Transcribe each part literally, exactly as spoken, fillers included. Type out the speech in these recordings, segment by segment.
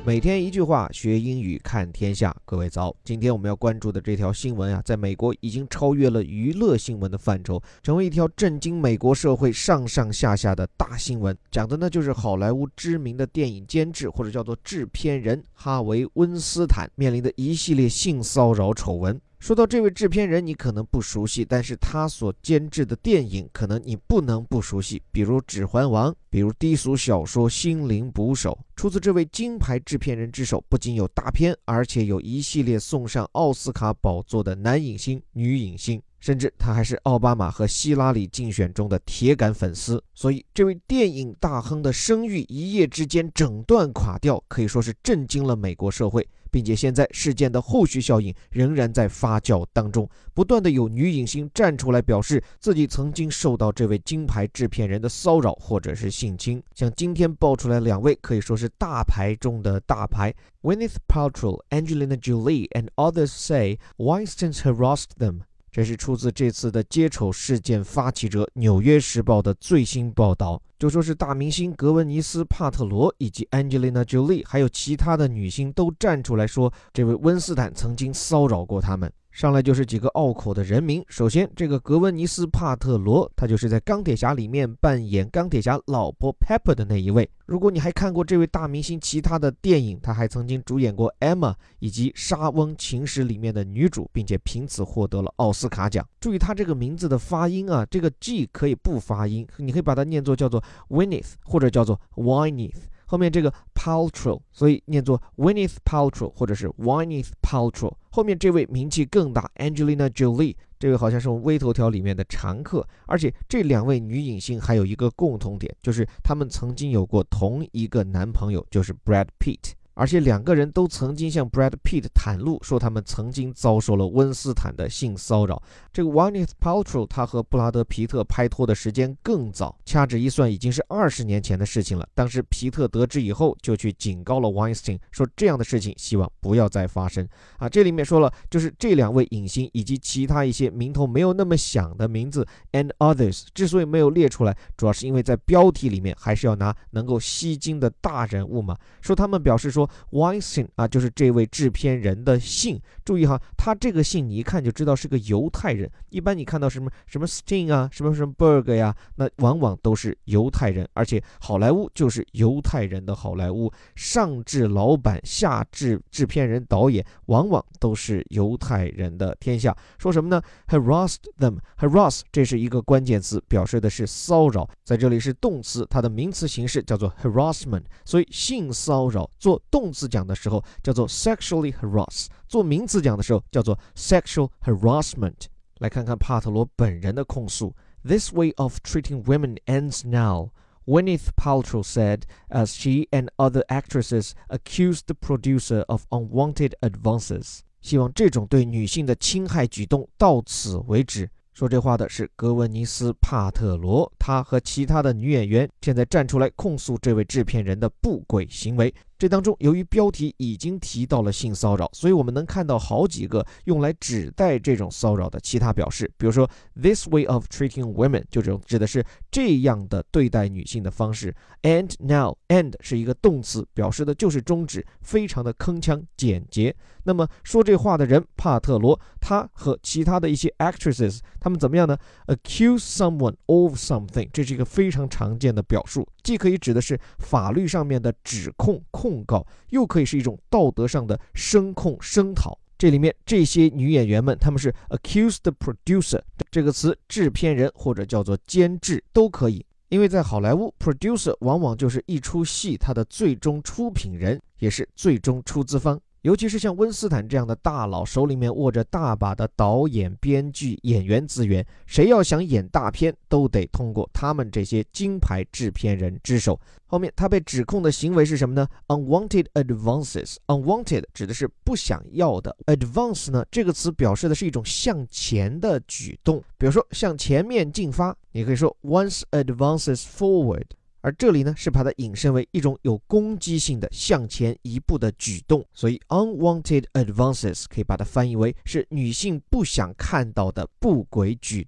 每天一句话，学英语看天下。各位早，今天我们要关注的这条新闻啊，在美国已经超越了娱乐新闻的范畴，成为一条震惊美国社会上上下下的大新闻。讲的呢就是好莱坞知名的电影监制或者叫做制片人哈维·温斯坦面临的一系列性骚扰丑闻。说到这位制片人，你可能不熟悉，但是他所监制的电影可能你不能不熟悉，比如《指环王》，比如低俗小说《心灵捕手》。出自这位金牌制片人之手，不仅有大片，而且有一系列送上奥斯卡宝座的男影星、女影星，甚至他还是奥巴马和希拉里竞选中的铁杆粉丝。所以这位电影大亨的声誉一夜之间整段垮掉，可以说是震惊了美国社会，并且现在事件的后续效应仍然在发酵当中，不断的有女影星站出来表示自己曾经受到这位金牌制片人的骚扰或者是性侵。像今天爆出来两位可以说是大牌中的大牌， Gwyneth Paltrow、Angelina Jolie and others say Weinstein harassed them。这是出自这次的接丑事件发起者《纽约时报》的最新报道，就说是大明星格温尼斯·帕特罗以及 Angelina Jolie 还有其他的女星都站出来说，这位温斯坦曾经骚扰过他们。上来就是几个拗口的人名。首先，这个格温尼斯·帕特罗，他就是在钢铁侠里面扮演钢铁侠老婆 Pepper 的那一位。如果你还看过这位大明星其他的电影，他还曾经主演过 Emma 以及《莎翁情史》里面的女主，并且凭此获得了奥斯卡奖。注意他这个名字的发音啊，这个 G 可以不发音，你可以把它念作叫做 Gwyneth 或者叫做 Wyneth，后面这个 Paltrow， 所以念作 Gwyneth Paltrow 或者是 Wyneth Paltrow。后面这位名气更大 Angelina Jolie， 这位好像是我们微头条里面的常客，而且这两位女影星还有一个共同点，就是她们曾经有过同一个男朋友，就是 Brad Pitt，而且两个人都曾经向 Brad Pitt 袒露说他们曾经遭受了温斯坦的性骚扰。这个 Gwyneth Paltrow 他和布拉德皮特拍拖的时间更早，掐指一算已经是二十年前的事情了。当时皮特得知以后就去警告了 Weinstein， 说这样的事情希望不要再发生啊。这里面说了，就是这两位影星以及其他一些名头没有那么响的名字 and others 之所以没有列出来，主要是因为在标题里面还是要拿能够吸睛的大人物嘛。说他们表示说Weinstein 啊，就是这位制片人的姓。注意哈，他这个姓你一看就知道是个犹太人。一般你看到什么什么 Stein 啊，什么什么 Berg 呀，那往往都是犹太人，而且好莱坞就是犹太人的好莱坞，上至老板，下至制片人、导演，往往都是犹太人的天下。说什么呢 ？Harassed them， harass 这是一个关键词，表示的是骚扰，在这里是动词，它的名词形式叫做 harassment， 所以性骚扰做动词讲的时候叫做 sexually harass， 做名词讲的时候叫做 sexual harassment。 来看看帕特罗本人的控诉。 This way of treating women ends now, Gwyneth Paltrow said as she and other actresses accused the producer of unwanted advances。 希望这种对女性的侵害举动到此为止。说这话的是格温尼斯·帕特罗，她和其他的女演员现在站出来控诉这位制片人的不轨行为。这当中由于标题已经提到了性骚扰，所以我们能看到好几个用来指代这种骚扰的其他表示，比如说 this way of treating women 就这种指的是这样的对待女性的方式。 and now and 是一个动词，表示的就是终止，非常的铿锵简洁。那么说这话的人帕特罗，他和其他的一些 actresses 他们怎么样呢？ accuse someone of something， 这是一个非常常见的表述，既可以指的是法律上面的指控控告，又可以是一种道德上的声控声讨。这里面这些女演员们，她们是 accuse the producer 这个词，制片人或者叫做监制都可以。因为在好莱坞 producer 往往就是一出戏它的最终出品人，也是最终出资方。尤其是像温斯坦这样的大佬，手里面握着大把的导演、编剧、演员资源，谁要想演大片，都得通过他们这些金牌制片人之手。后面他被指控的行为是什么呢？ Unwanted advances， Unwanted 指的是不想要的， Advance 呢这个词表示的是一种向前的举动，比如说向前面进发，你可以说 Once advances forward。而这里呢是把它引申为一种有攻击性的向前一步的举动，所以 unwanted advances 可以把它翻译为是女性不想看到的不轨举动。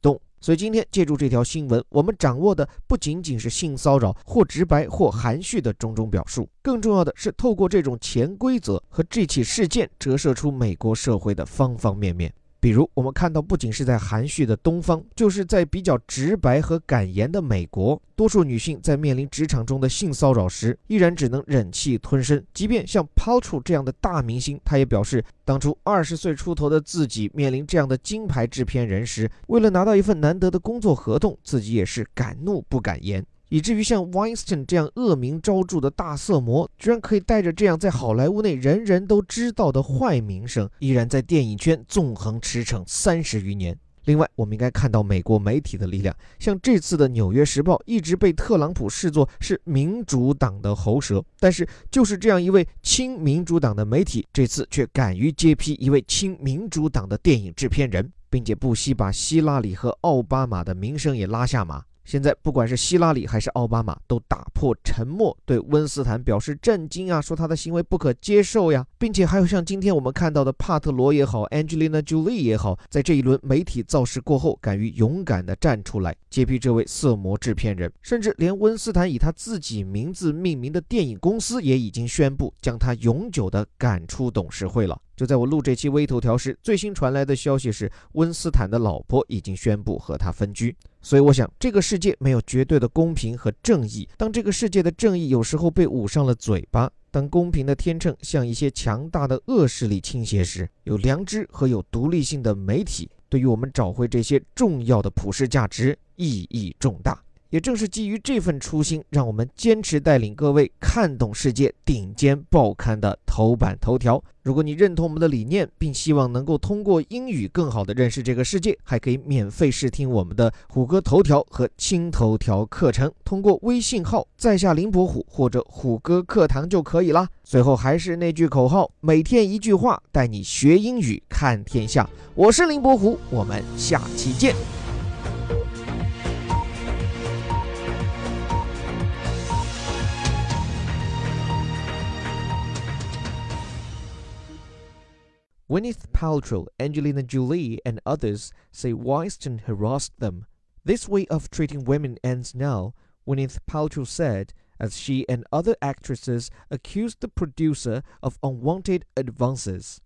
所以今天借助这条新闻，我们掌握的不仅仅是性骚扰或直白或含蓄的种种表述，更重要的是透过这种潜规则和这起事件折射出美国社会的方方面面。比如我们看到，不仅是在含蓄的东方，就是在比较直白和敢言的美国，多数女性在面临职场中的性骚扰时，依然只能忍气吞声。即便像 Paltrow 这样的大明星，他也表示，当初二十岁出头的自己面临这样的金牌制片人时，为了拿到一份难得的工作合同，自己也是敢怒不敢言。以至于像 Weinstein 这样恶名昭著的大色魔，居然可以带着这样在好莱坞内人人都知道的坏名声，依然在电影圈纵横驰骋三十余年。另外，我们应该看到美国媒体的力量，像这次的《纽约时报》一直被特朗普视作是民主党的喉舌，但是就是这样一位亲民主党的媒体，这次却敢于揭批一位亲民主党的电影制片人，并且不惜把希拉里和奥巴马的名声也拉下马。现在不管是希拉里还是奥巴马，都打破沉默，对温斯坦表示震惊啊，说他的行为不可接受呀，并且还有像今天我们看到的帕特罗也好 ，Angelina Jolie 也好，在这一轮媒体造势过后，敢于勇敢地站出来揭批这位色魔制片人，甚至连温斯坦以他自己名字命名的电影公司也已经宣布将他永久地赶出董事会了。就在我录这期微头条时，最新传来的消息是，温斯坦的老婆已经宣布和他分居。所以我想，这个世界没有绝对的公平和正义。当这个世界的正义有时候被捂上了嘴巴，当公平的天秤向一些强大的恶势力倾斜时，有良知和有独立性的媒体，对于我们找回这些重要的普世价值意义重大。也正是基于这份初心，让我们坚持带领各位看懂世界顶尖报刊的头版头条。如果你认同我们的理念，并希望能够通过英语更好地认识这个世界，还可以免费试听我们的虎哥头条和轻头条课程，通过微信号在下林伯虎或者虎哥课堂就可以啦。最后还是那句口号，每天一句话，带你学英语看天下。我是林伯虎，我们下期见。Gwyneth Paltrow, Angelina Jolie, and others say Weinstein harassed them. This way of treating women ends now, Gwyneth Paltrow said, as she and other actresses accused the producer of unwanted advances.